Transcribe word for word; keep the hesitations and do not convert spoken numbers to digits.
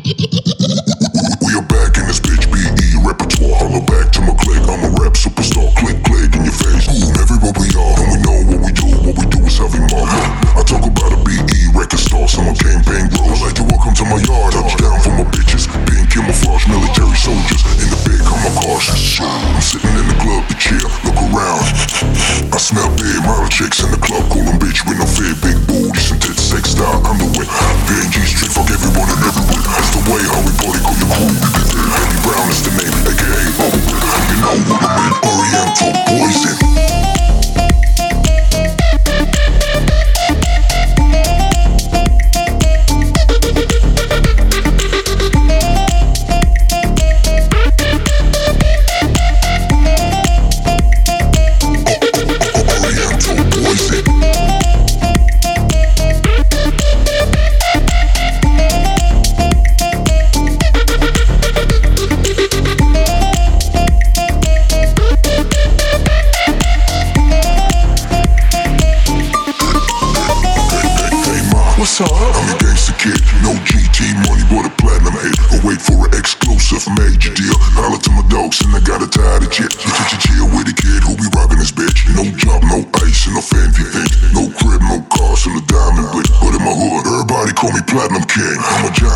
We are back in this bitch, B E repertoire. Holla back to my clique, I'm a rap superstar. Click, click in your face, boom, everywhere we are. And we know what we do, what we do is heavy marker. I talk about a B E record star, summer campaign grows. Like to welcome to my yard, touchdown for my bitches. Being camouflage, military soldiers. In the big, I'm a cautious. I'm sitting in the club, the chair, look around. I smell beer, model chicks in the club, call them bitch with no fear. Big booty, synthetic sex style, I'm the way. P N G street, fuck everyone and everywhere. That's the way how we party, call your crew. Baby Brown is the name, aka Overwood. You know what I mean, Oriental poison. What's up? I'm a gangster kid, no G T money, but a platinum hit. Or wait for an exclusive major deal. Holla to my dogs and I got a tired of shit. You ch chill with a kid who be rockin' his bitch. No job, no ice, and no fancy things. No crib, no cars, and a diamond blick. But in my hood, everybody call me Platinum King. I'm a